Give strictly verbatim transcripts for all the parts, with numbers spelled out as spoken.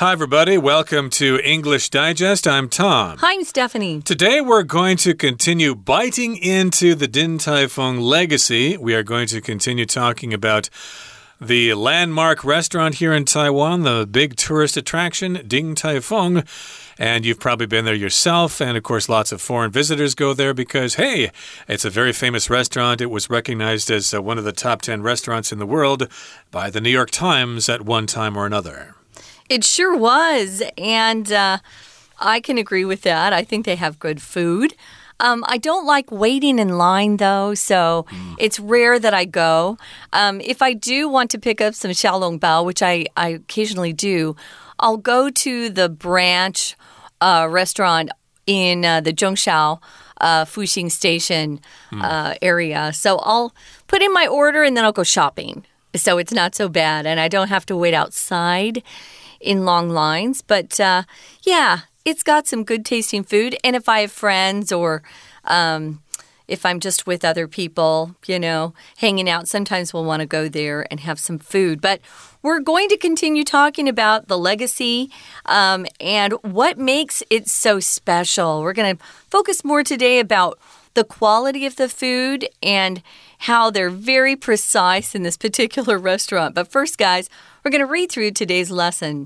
Hi, everybody. Welcome to English Digest. I'm Tom. Hi, I'm Stephanie. Today, we're going to continue biting into the Din Tai Fung legacy. We are going to continue talking about the landmark restaurant here in Taiwan, the big tourist attraction, Din Tai Fung. And you've probably been there yourself. And, of course, lots of foreign visitors go there because, hey, it's a very famous restaurant. It was recognized as uh, one of the top ten restaurants in the world by the New York Times at one time or another. It sure was. And uh, I can agree with that. I think they have good food. Um, I don't like waiting in line, though, so mm. it's rare that I go. Um, if I do want to pick up some xiaolongbao, which I, I occasionally do, I'll go to the branch uh, restaurant in uh, the Zhongshao uh, Fuxing Station mm. uh, area. So I'll put in my order and then I'll go shopping. So it's not so bad, and I don't have to wait outside in long lines. But uh, yeah, it's got some good tasting food. And if I have friends or um, if I'm just with other people, you know, hanging out, sometimes we'll want to go there and have some food. But we're going to continue talking about the legacy um, and what makes it so special. We're going to focus more today about the quality of the food and how they're very precise in this particular restaurant. But first, guys, we're going to read through today's lesson.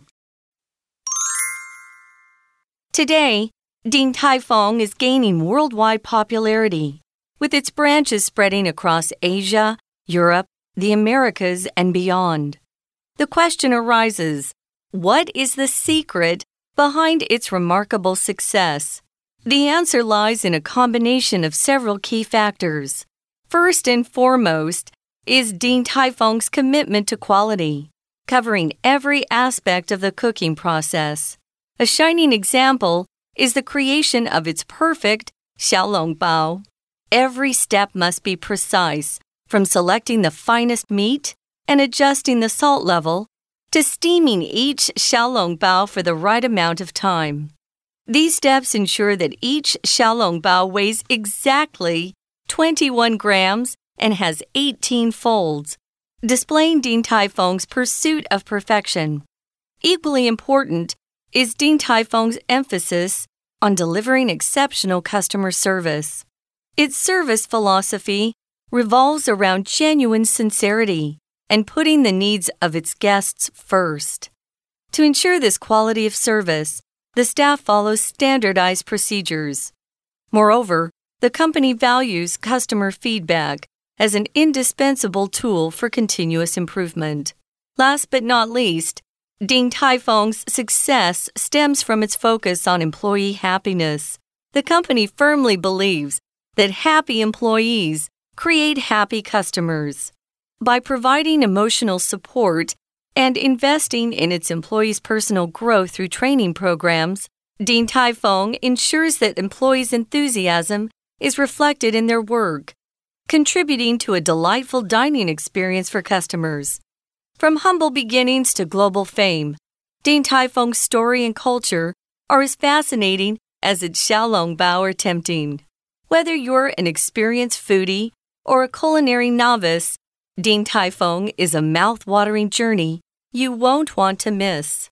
Today, Din Tai Fung is gaining worldwide popularity, with its branches spreading across Asia, Europe, the Americas, and beyond. The question arises, what is the secret behind its remarkable success? The answer lies in a combination of several key factors. First and foremost is Din Tai Fung's commitment to quality, covering every aspect of the cooking process. A shining example is the creation of its perfect xiaolongbao. Every step must be precise, from selecting the finest meat and adjusting the salt level to steaming each xiaolongbao for the right amount of time. These steps ensure that each xiaolongbao weighs exactly twenty-one grams and has eighteen folds, displaying Din Tai Fung's pursuit of perfection. Equally important is Din Tai Fung's emphasis on delivering exceptional customer service. Its service philosophy revolves around genuine sincerity and putting the needs of its guests first. To ensure this quality of service, the staff follows standardized procedures. Moreover, the company values customer feedback as an indispensable tool for continuous improvement. Last but not least, Din Tai Fung's success stems from its focus on employee happiness. The company firmly believes that happy employees create happy customers. By providing emotional support and investing in its employees' personal growth through training programs, Din Tai Fung ensures that employees' enthusiasm is reflected in their work, contributing to a delightful dining experience for customers. From humble beginnings to global fame, Din Tai Fung's story and culture are as fascinating as its xiaolongbao are tempting. Whether you're an experienced foodie or a culinary novice, Din Tai Fung is a mouth-watering journey you won't want to miss.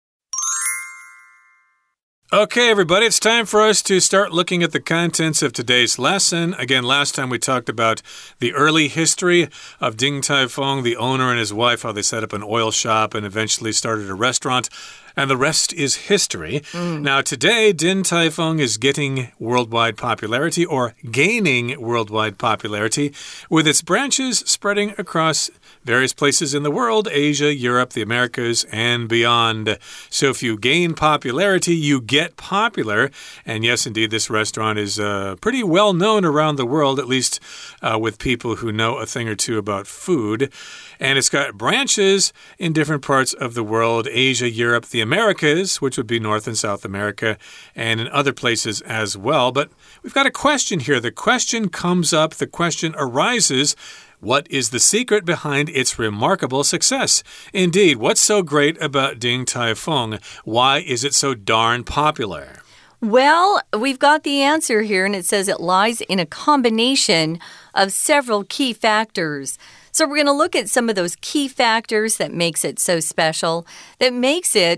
Okay, everybody, it's time for us to start looking at the contents of today's lesson. Again, last time we talked about the early history of Din Tai Fung, the owner and his wife, how they set up an oil shop and eventually started a restaurant. And the rest is history. Mm. Now, today, Din Tai Fung is getting worldwide popularity or gaining worldwide popularity with its branches spreading across various places in the world, Asia, Europe, the Americas, and beyond. So if you gain popularity, you get popular. And yes, indeed, this restaurant is uh, pretty well known around the world, at least uh, with people who know a thing or two about food. And it's got branches in different parts of the world, Asia, Europe, the Americas, which would be North and South America, and in other places as well. But we've got a question here. The question comes up, the question arises, what is the secret behind its remarkable success? Indeed, what's so great about Din Tai Fung? Why is it so darn popular? Well, we've got the answer here, and it says it lies in a combination of several key factors. So we're going to look at some of those key factors that makes it so special, that makes it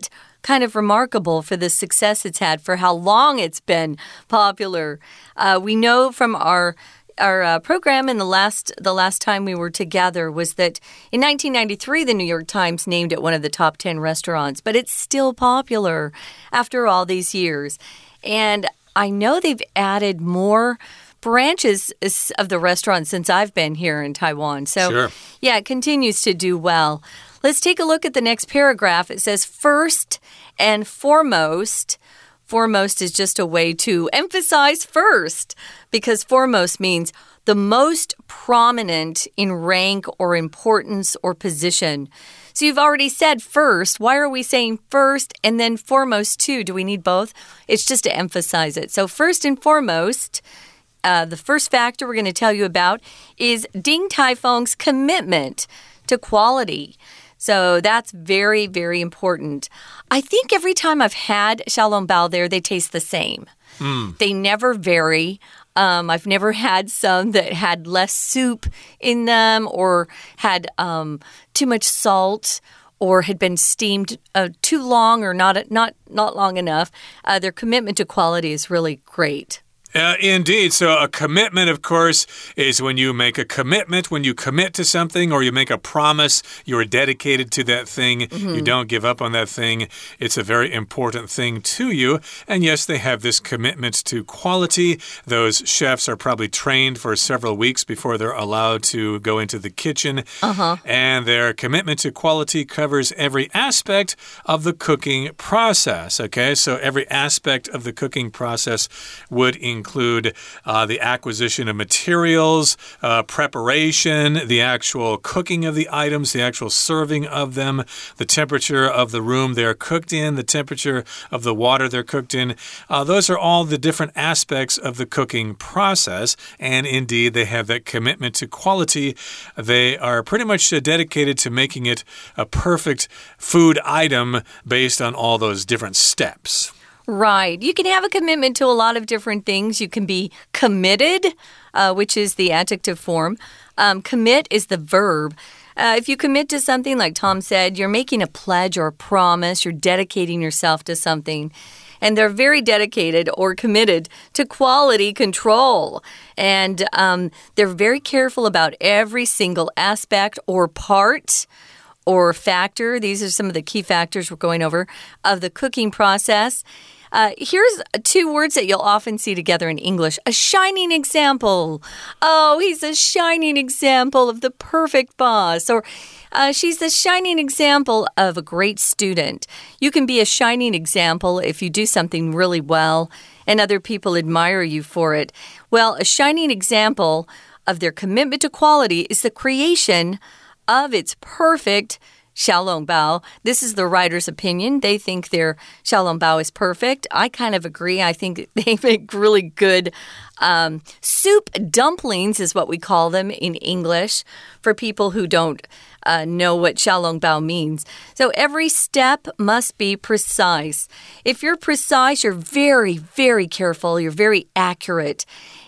kind of remarkable for the success it's had, for how long it's been popular. Uh, we know from our Our uh, program in the last the last time we were together was that in nineteen ninety-three, the New York Times named it one of the top ten restaurants, but it's still popular after all these years. And I know they've added more branches of the restaurant since I've been here in Taiwan. So, sure. yeah, it continues to do well. Let's take a look at the next paragraph. It says, first and foremost. Foremost is just a way to emphasize first, because foremost means the most prominent in rank or importance or position. So you've already said first. Why are we saying first and then foremost too? Do we need both? It's just to emphasize it. So first and foremost, uh, the first factor we're going to tell you about is Din Tai Fung's commitment to quality. So that's very, very important. I think every time I've had xiaolongbao there, they taste the same. Mm. They never vary. Um, I've never had some that had less soup in them or had um, too much salt or had been steamed uh, too long or not, not, not long enough. Uh, their commitment to quality is really great. Uh, indeed. So a commitment, of course, is when you make a commitment, when you commit to something or you make a promise, you're dedicated to that thing. Mm-hmm. You don't give up on that thing. It's a very important thing to you. And yes, they have this commitment to quality. Those chefs are probably trained for several weeks before they're allowed to go into the kitchen. Uh-huh. And their commitment to quality covers every aspect of the cooking process. Okay, so every aspect of the cooking process would include include uh, the acquisition of materials, uh, preparation, the actual cooking of the items, the actual serving of them, the temperature of the room they're cooked in, the temperature of the water they're cooked in. Uh, those are all the different aspects of the cooking process. And indeed, they have that commitment to quality. They are pretty much uh, dedicated to making it a perfect food item based on all those different steps. Right. You can have a commitment to a lot of different things. You can be committed, uh, which is the adjective form. Um, commit is the verb. Uh, if you commit to something, like Tom said, you're making a pledge or a promise. You're dedicating yourself to something. And they're very dedicated or committed to quality control. And um, they're very careful about every single aspect or part or factor. These are some of the key factors we're going over of the cooking process. Uh, here's two words that you'll often see together in English. A shining example. Oh, he's a shining example of the perfect boss. Or uh, she's the shining example of a great student. You can be a shining example if you do something really well and other people admire you for it. Well, a shining example of their commitment to quality is the creation of its perfect xiaolongbao. This is the writer's opinion. They think their xiaolongbao is perfect. I kind of agree. I think they make really good um, soup dumplings is what we call them in English for people who don't uh, know what xiaolongbao means. So every step must be precise. If you're precise, you're very, very careful. You're very accurate.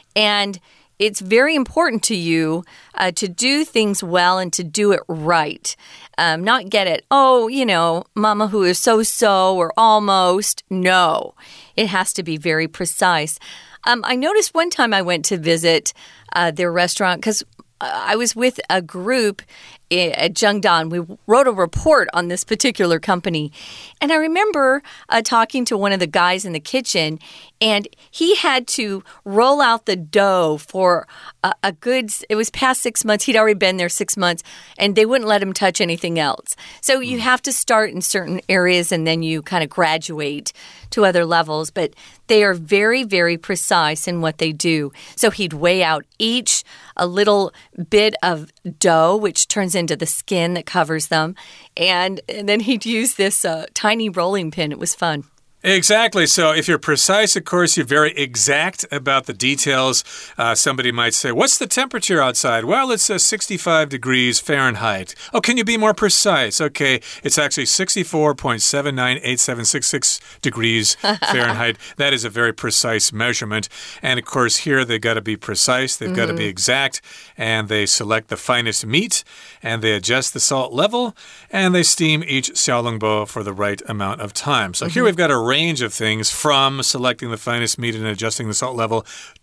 And it's very important to you uh, to do things well and to do it right. Um, not get it, oh, you know, mama who is so-so or almost. No, it has to be very precise. Um, I noticed one time I went to visit uh, their restaurant because I was with a group at Zhengdan. We wrote a report on this particular company. And I remember uh, talking to one of the guys in the kitchen, and he had to roll out the dough for a, a good, it was past six months. He'd already been there six months, and they wouldn't let him touch anything else. So you have to start in certain areas, and then you kind of graduate to other levels. But they are very, very precise in what they do. So he'd weigh out each a little bit of dough, which turns into the skin that covers them. And, and then he'd use this uh, tiny rolling pin. It was fun. Exactly. So if you're precise, of course, you're very exact about the details. Uh, somebody might say, what's the temperature outside? Well, it's uh, sixty-five degrees Fahrenheit. Oh, can you be more precise? Okay, it's actually sixty-four point seven nine eight seven six six degrees Fahrenheit. That is a very precise measurement. And of course, here they've got to be precise. They've mm-hmm. got to be exact. And they select the finest meat. And they adjust the salt level. And they steam each xiaolongbao for the right amount of time. So mm-hmm. here we've got a range of things from selecting the finest meat and adjusting the salt level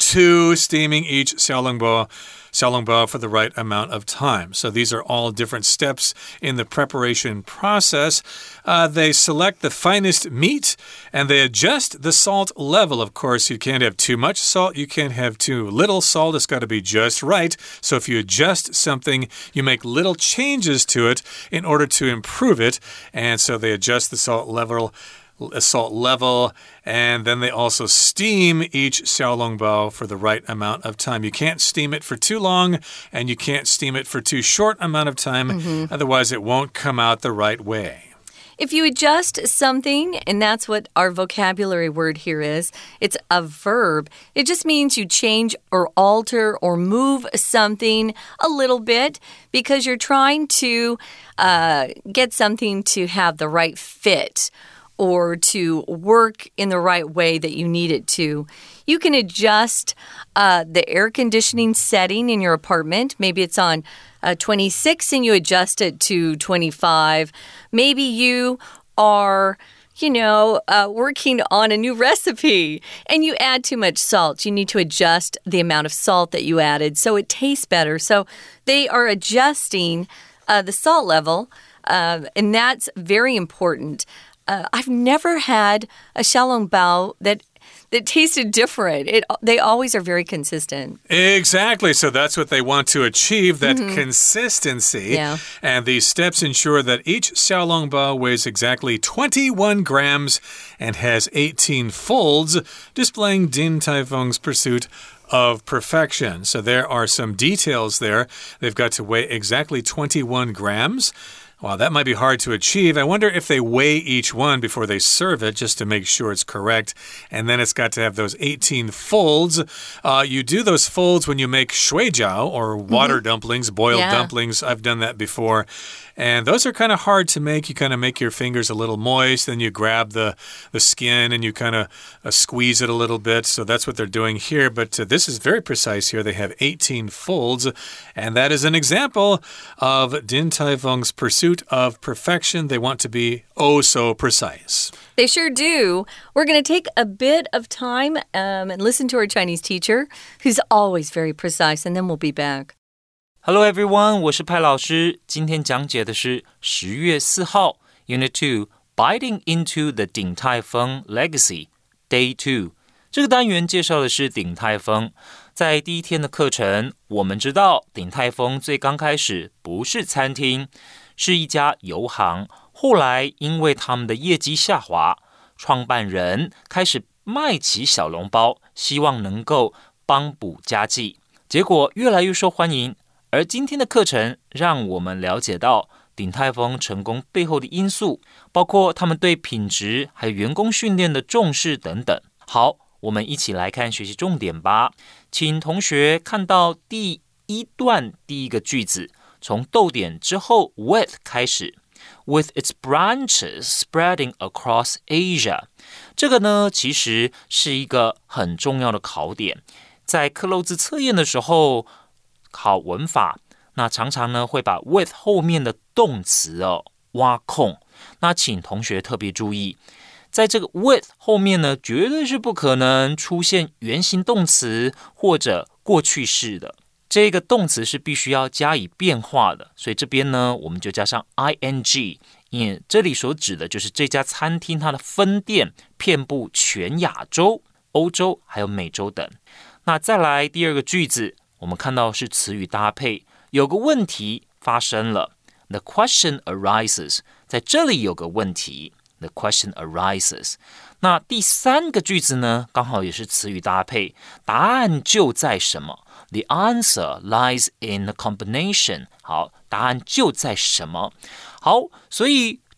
to steaming each xiaolongbao xiaolongbao for the right amount of time. So these are all different steps in the preparation process. Uh, they select the finest meat and they adjust the salt level. Of course, you can't have too much salt. You can't have too little salt. It's got to be just right. So if you adjust something, you make little changes to it in order to improve it. And so they adjust the salt level salt level, and then they also steam each xiaolongbao for the right amount of time. You can't steam it for too long, and you can't steam it for too short amount of time, mm-hmm. otherwise it won't come out the right way. If you adjust something, and that's what our vocabulary word here is, it's a verb. It just means you change or alter or move something a little bit because you're trying to uh, get something to have the right fit or to work in the right way that you need it to. You can adjust uh, the air conditioning setting in your apartment. Maybe it's on uh, twenty-six and you adjust it to twenty-five. Maybe you are, you know, uh, working on a new recipe and you add too much salt. You need to adjust the amount of salt that you added so it tastes better. So they are adjusting uh, the salt level, uh, and that's very important. Uh, I've never had a xiaolongbao that that tasted different. It, they always are very consistent. Exactly. So that's what they want to achieve, that mm-hmm. consistency. Yeah. And these steps ensure that each xiaolongbao weighs exactly twenty-one grams and has eighteen folds, displaying Din Tai Fung's pursuit of perfection. So there are some details there. They've got to weigh exactly twenty-one grams. Wow, that might be hard to achieve. I wonder if they weigh each one before they serve it just to make sure it's correct. And then it's got to have those eighteen folds. Uh, you do those folds when you make shuijiao or water mm-hmm. dumplings, boiled yeah. dumplings. I've done that before. And those are kind of hard to make. You kind of make your fingers a little moist, then you grab the, the skin and you kind of uh, squeeze it a little bit. So that's what they're doing here. But uh, this is very precise here. They have eighteen folds. And that is an example of Din Tai Fung's pursuit of perfection. They want to be oh so precise. They sure do. We're going to take a bit of time um, and listen to our Chinese teacher, who's always very precise, and then we'll be back. Hello everyone, 我是派老師。今天講解的是十月四號 Unit two Biting into the Din Tai Fung Legacy Day two 這個單元介紹的是鼎泰豐。在第一天的課程，我們知道鼎泰豐最剛開始不是餐廳，是一家油行。後來因為他們的業績下滑，創辦人開始賣起小籠包，希望能夠幫補家計，結果越來越受歡迎。而今天的課程讓我們了解到鼎泰豐成功背後的因素，包括他們對品質還有員工訓練的重視等等。好，我們一起來看學習重點吧。請同學看到第一段第一個句子，從逗點之後 with 開始 with its branches spreading across Asia。 這個呢其實是一個很重要的考點，在克漏字測驗的時候考文法，那常常呢會把 with 後面的動詞哦挖空，那請同學特別注意，在這個 with 後面呢絕對是不可能出現原形動詞或者過去式的，這個動詞是必須要加以變化的，所以這邊呢我們就加上 ing， 因為這裡所指的就是這家餐廳它的分店遍布全亞洲、歐洲還有美洲等。那再來第二個句子，我們看到是詞語搭配，有個問題發生了 The question arises， 在這裡有個問題 The question arises。 那第三個句子呢剛好也是詞語搭配，答案就在什麼 The answer lies in the combination。 好，答案就在什麼。好，所以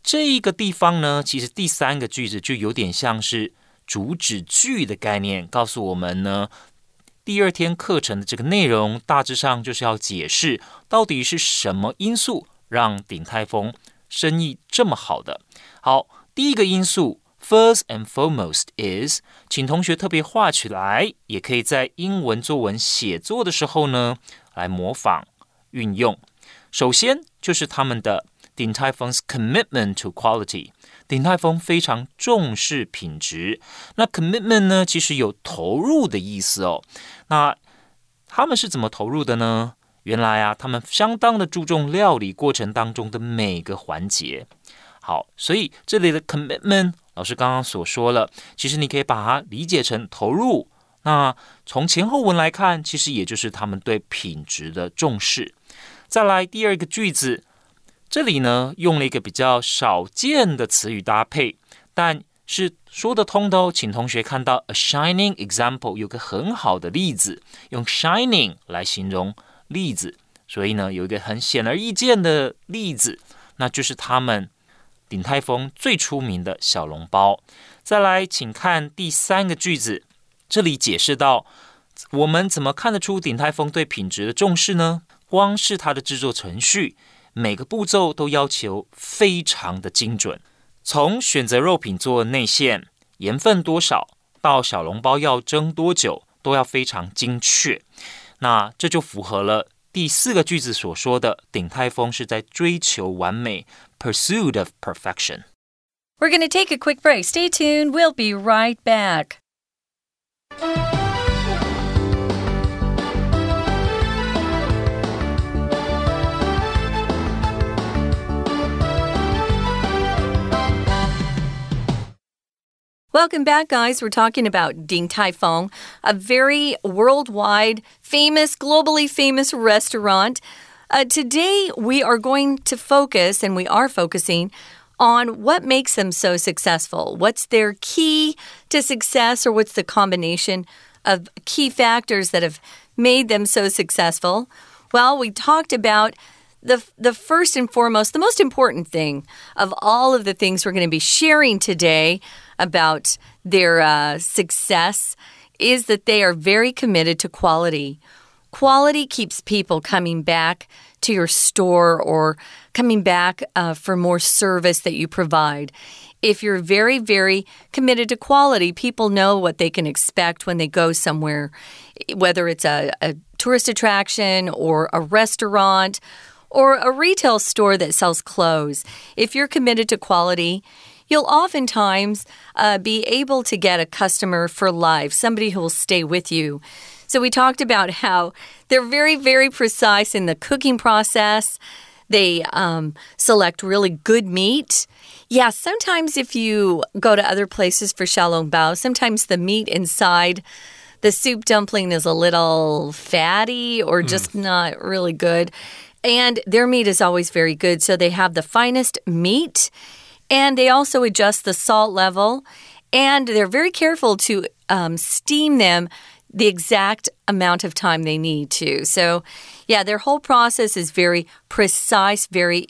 這一個地方呢，其實第三個句子就有點像是主旨句的概念，告訴我們呢，第二天課程的這個內容大致上就是要解釋到底是什麼因素讓鼎泰豐生意這麼好的。好，第一個因素 First and foremost is， 請同學特別畫起來，也可以在英文作文寫作的時候呢來模仿運用。首先就是他們的鼎泰豐 commitment to quality， 鼎泰豐非常重視品質。那 commitment 呢，其實有投入的意思哦。那他們是怎麼投入的呢？原來啊，他們相當的注重料理過程當中的每個環節。好，所以這裡的 commitment， 老師剛剛所說了，其實你可以把它理解成投入。那從前後文來看，其實也就是他們對品質的重視。再來第二個句子，這裡呢用了一個比較少見的詞語搭配，但是說得通的哦。請同學看到 a shining example， 有個很好的例子，用 shining 來形容例子，所以呢有一個很顯而易見的例子，那就是他們鼎泰豐最出名的小籠包。再來請看第三個句子，這裡解釋到我們怎麼看得出鼎泰豐對品質的重視呢？光是它的製作程序，每個步驟都要求非常的精準，從選擇肉品做內餡，鹽分多少，到小籠包要蒸多久，都要非常精確。那這就符合了第四個句子所說的，鼎泰豐是在追求完美 ，pursuit of perfection. We're going to take a quick break. Stay tuned. We'll be right back. Welcome back, guys. We're talking about Din Tai Fung, a very worldwide, famous, globally famous restaurant. Uh, today, we are going to focus, and we are focusing, on what makes them so successful. What's their key to success, or what's the combination of key factors that have made them so successful? Well, we talked about The, the first and foremost, the most important thing of all of the things we're going to be sharing today about their uh, success is that they are very committed to quality. Quality keeps people coming back to your store or coming back uh, for more service that you provide. If you're very, very committed to quality, people know what they can expect when they go somewhere, whether it's a, a tourist attraction or a restaurant or a retail store that sells clothes. If you're committed to quality, you'll oftentimes uh, be able to get a customer for life, somebody who will stay with you. So we talked about how they're very, very precise in the cooking process. They um, select really good meat. Yeah, sometimes if you go to other places for xiaolongbao, sometimes the meat inside the soup dumpling is a little fatty or just mm. not really good.And their meat is always very good, so they have the finest meat, and they also adjust the salt level, and they're very careful to um, steam them the exact amount of time they need to. So, yeah, their whole process is very precise, very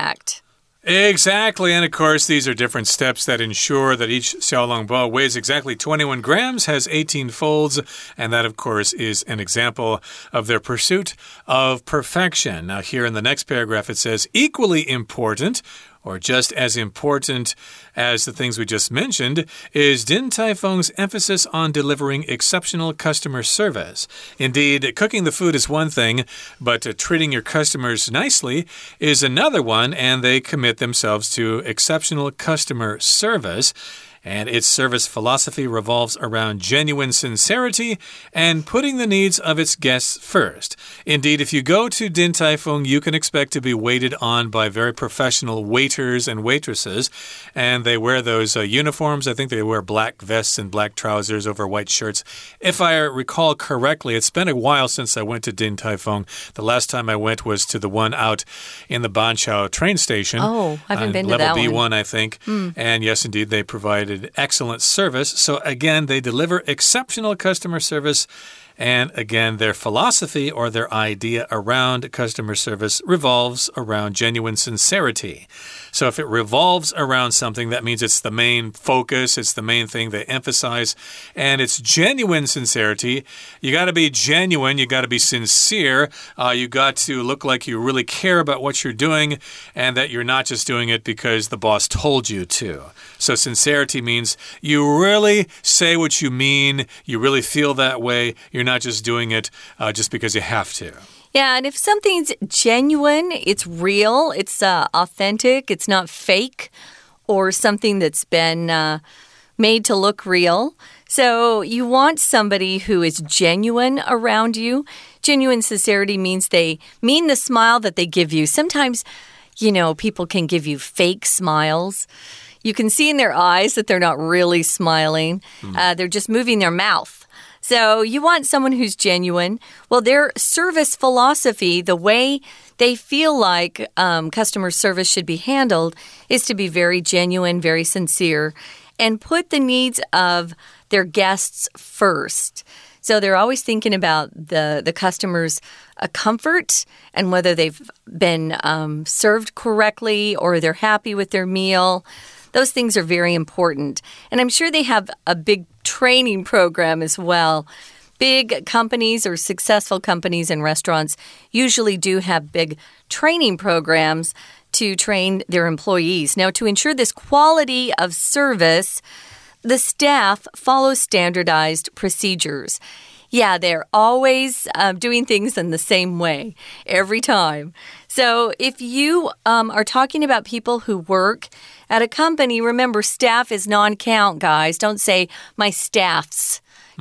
exact.Exactly, and of course, these are different steps that ensure that each xiaolongbao weighs exactly twenty-one grams, has eighteen folds, and that, of course, is an example of their pursuit of perfection. Now, here in the next paragraph, it says, equally important, or just as important as the things we just mentioned, is Din Tai Fung's emphasis on delivering exceptional customer service. Indeed, cooking the food is one thing, but uh, treating your customers nicely is another one, and they commit themselves to exceptional customer service.And its service philosophy revolves around genuine sincerity and putting the needs of its guests first. Indeed, if you go to Din Tai Fung, you can expect to be waited on by very professional waiters and waitresses. And they wear those uh, uniforms. I think they wear black vests and black trousers over white shirts. If I recall correctly, it's been a while since I went to Din Tai Fung. The last time I went was to the one out in the Banqiao train station. Oh, I haven't been to that one. Level B one, I think. Mm. And yes, indeed, they provided excellent service. So again, they deliver exceptional customer service, And again, their philosophy or their idea around customer service revolves around genuine sincerity. So if it revolves around something, that means it's the main focus, it's the main thing they emphasize, and it's genuine sincerity. You got to be genuine, you got to be sincere, uh, you got to look like you really care about what you're doing, and that you're not just doing it because the boss told you to. So sincerity means you really say what you mean, you really feel that way, you're not just doing it uh, just because you have to. Yeah, and if something's genuine, it's real, it's uh, authentic, it's not fake or something that's been uh, made to look real. So you want somebody who is genuine around you. Genuine sincerity means they mean the smile that they give you. Sometimes, you know, people can give you fake smiles. You can see in their eyes that they're not really smiling. Mm. Uh, they're just moving their mouth. So you want someone who's genuine. Well, their service philosophy, the way they feel like um, customer service should be handled, is to be very genuine, very sincere, and put the needs of their guests first. So they're always thinking about the, the customer's uh, comfort and whether they've been um, served correctly or they're happy with their meal. Those things are very important. And I'm sure they have a big training program as well. Big companies or successful companies and restaurants usually do have big training programs to train their employees. Now, to ensure this quality of service, the staff follows standardized procedures. Yeah, they're always um, doing things in the same way every time. So if you um, are talking about people who work at a company, remember, staff is non-count, guys. Don't say, my staff's.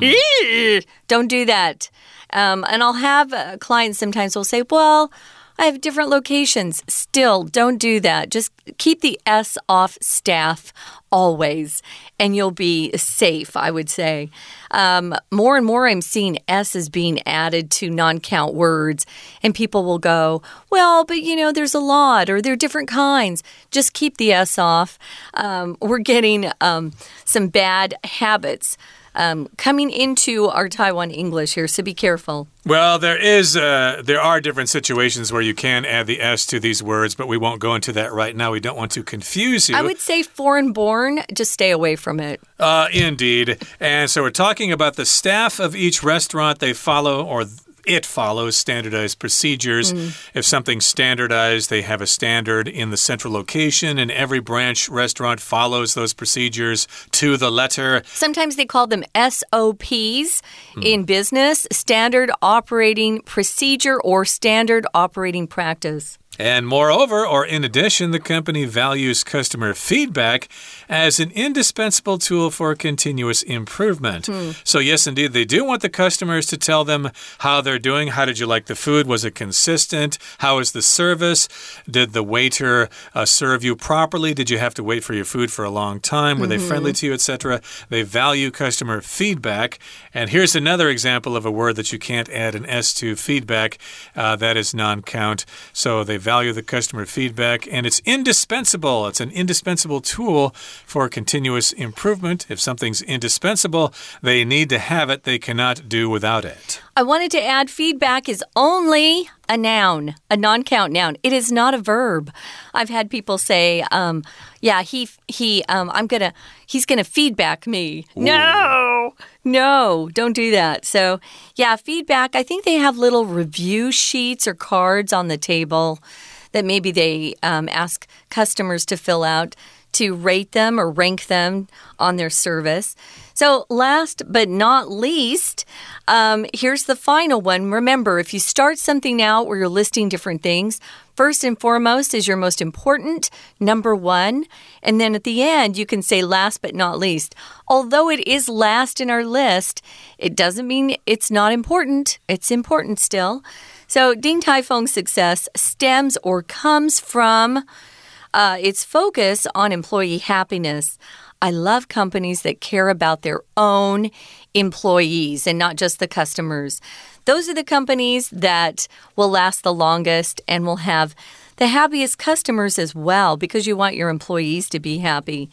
Mm. Don't do that. Um, and I'll have uh, clients sometimes will say, well, I have different locations. Still, don't do that. Just keep the S off staff always, and you'll be safe, I would say. Um, more and more I'm seeing S's being added to non-count words, and people will go, well, but, you know, there's a lot, or there are different kinds. Just keep the S off. Um, we're getting um, some bad habits Um, coming into our Taiwan English here, so be careful. Well, there is, uh, there are different situations where you can add the S to these words, but we won't go into that right now. We don't want to confuse you. I would say foreign-born, just stay away from it. Uh, indeed. And so we're talking about the staff of each restaurant. They follow, or it follows standardized procedures. Mm. If something's standardized, they have a standard in the central location, and every branch restaurant follows those procedures to the letter. Sometimes they call them S O Ps mm. in business, standard operating procedure or standard operating practice. And moreover, or in addition, the company values customer feedback as an indispensable tool for continuous improvement. Hmm. So yes, indeed, they do want the customers to tell them how they're doing. How did you like the food? Was it consistent? How is the service? Did the waiter uh, serve you properly? Did you have to wait for your food for a long time? Were mm-hmm. they friendly to you, et cetera? They value customer feedback. And here's another example of a word that you can't add an S to, feedback. Uh, that is non-count. So they value the customer feedback, and it's indispensable. It's an indispensable tool for continuous improvement. If something's indispensable, they need to have it. They cannot do without it. I wanted to add feedback is only a noun, a non-count noun. It is not a verb. I've had people say, um, yeah, he, he, um, I'm gonna, he's gonna feedback me. Ooh. No, no, don't do that. So, yeah, feedback, I think they have little review sheets or cards on the table that maybe they um, ask customers to fill out to rate them or rank them on their service. So last but not least, um, here's the final one. Remember, if you start something out where you're listing different things, first and foremost is your most important, number one. And then at the end, you can say last but not least. Although it is last in our list, it doesn't mean it's not important. It's important still. So Din Tai Fung's success stems or comes from uh, its focus on employee happiness. I love companies that care about their own employees and not just the customers. Those are the companies that will last the longest and will have the happiest customers as well, because you want your employees to be happy.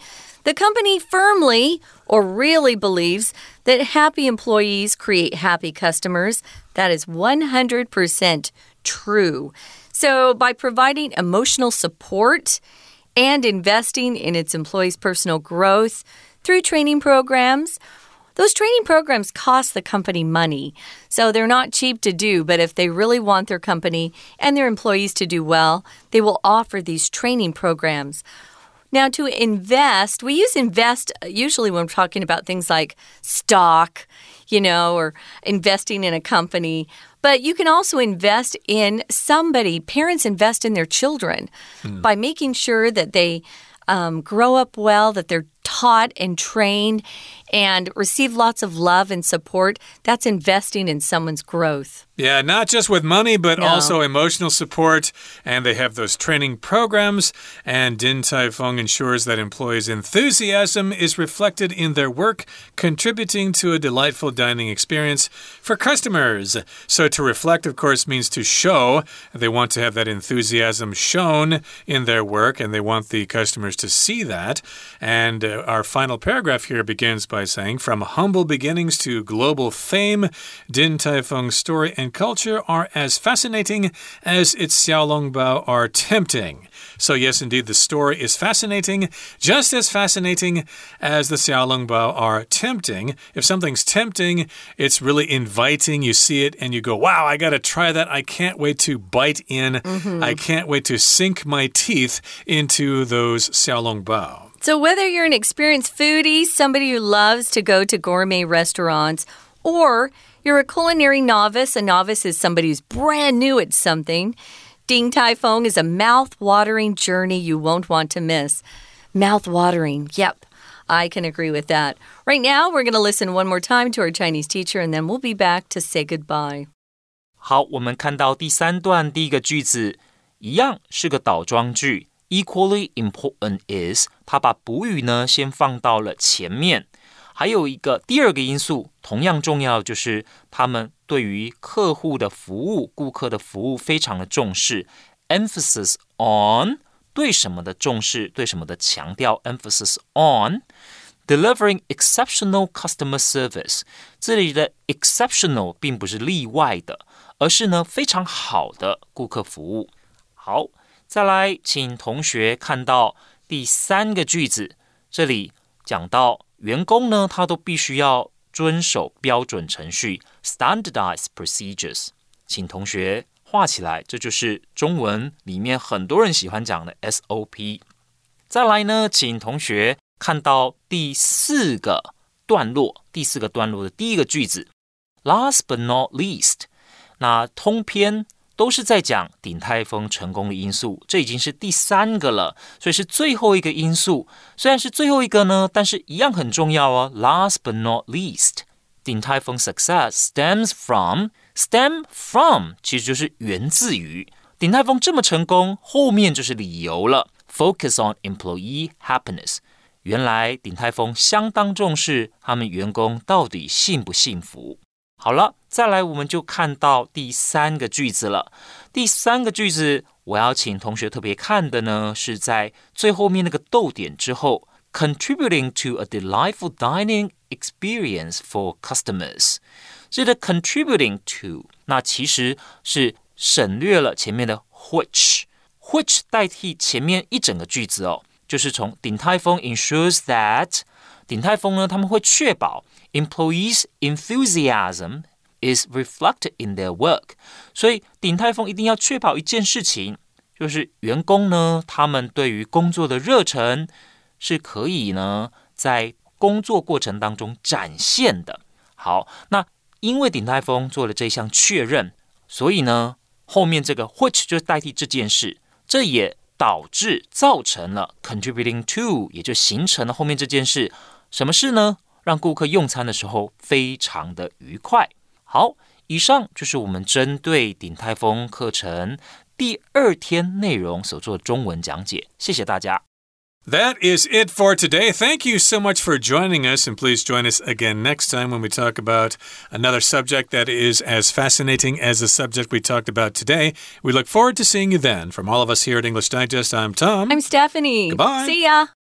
The company firmly or really believes that happy employees create happy customers. That is one hundred percent true. So by providing emotional support and investing in its employees' personal growth through training programs, those training programs cost the company money, so they're not cheap to do, but if they really want their company and their employees to do well, they will offer these training programs. Now, to invest, we use invest usually when we're talking about things like stock, you know, or investing in a company. But you can also invest in somebody. Parents invest in their children mm. by making sure that they um, grow up well, that they're taught and trained and receive lots of love and support. That's investing in someone's growth. Yeah, not just with money, but no. also emotional support. And they have those training programs. And Din Tai Fung ensures that employees' enthusiasm is reflected in their work, contributing to a delightful dining experience for customers. So to reflect, of course, means to show. They want to have that enthusiasm shown in their work, and they want the customers to see that. And uh, our final paragraph here begins by saying, from humble beginnings to global fame, Din Tai Fung's story and culture are as fascinating as its xiaolongbao are tempting. So yes, indeed, the story is fascinating, just as fascinating as the xiaolongbao are tempting. If something's tempting, it's really inviting. You see it and you go, wow, I got to try that. I can't wait to bite in. Mm-hmm. I can't wait to sink my teeth into those xiaolongbao. So whether you're an experienced foodie, somebody who loves to go to gourmet restaurants, or you're a culinary novice, a novice is somebody who's brand new at something, Din Tai Fung is a mouth-watering journey you won't want to miss. Mouth-watering, yep, I can agree with that. Right now, we're going to listen one more time to our Chinese teacher, and then we'll be back to say goodbye. 好，我们看到第三段第一个句子，一样是個倒裝句。Equally important is， 它把補語呢先放到了前面。還有一個第二個因素，同樣重要，就是他們對於客戶的服務、顧客的服務非常的重視。Emphasis on 對什麼的重視，對什麼的強調 ，emphasis on delivering exceptional customer service。這裡的 exceptional 並不是例外的，而是呢非常好的顧客服務。好。再來，請同學看到第三個句子，這裡講到員工呢，他都必須要遵守標準程序 （standardized procedures）。請同學畫起來，這就是中文裡面很多人喜歡講的 S O P。再來呢，請同學看到第四個段落，第四個段落的第一個句子 ，Last but not least， 那通篇都是在講鼎泰豐成功的因素，這已經是第三個了，所以是最後一個因素。雖然是最後一個呢，但是一樣很重要哦。Last but not least， 鼎泰豐 success stems from stem from， 其實就是源自於鼎泰豐這麼成功，後面就是理由了。Focus on employee happiness， 原來鼎泰豐相當重視他們員工到底幸不幸福。好了，再來我們就看到第三個句子了。第三個句子，我要請同學特別看的呢，是在最後面那個逗點之後 ，contributing to a delightful dining experience for customers。這個 contributing to， 那其實是省略了前面的 which，which 代替前面一整個句子哦，就是從鼎泰豐 ensures that， 鼎泰豐呢他們會確保Employees' enthusiasm is reflected in their work， 所以鼎泰豐一定要確保一件事情，就是員工呢，他們對於工作的熱忱是可以呢，在工作過程當中展現的。好，那因為鼎泰豐做了這項確認，所以呢，後面這個 which 就代替這件事，這也導致造成了 contributing to， 也就形成了後面這件事。什麼事呢？讓顧客用餐的時候非常的愉快。好，以上就是我們針對鼎泰豐課程第二天內容所做的中文講解。謝謝大家。 That is it for today. Thank you so much for joining us, and please join us again next time when we talk about another subject that is as fascinating as the subject we talked about today. We look forward to seeing you then. From all of us here at English Digest, I'm Tom. I'm Stephanie. Goodbye. See ya.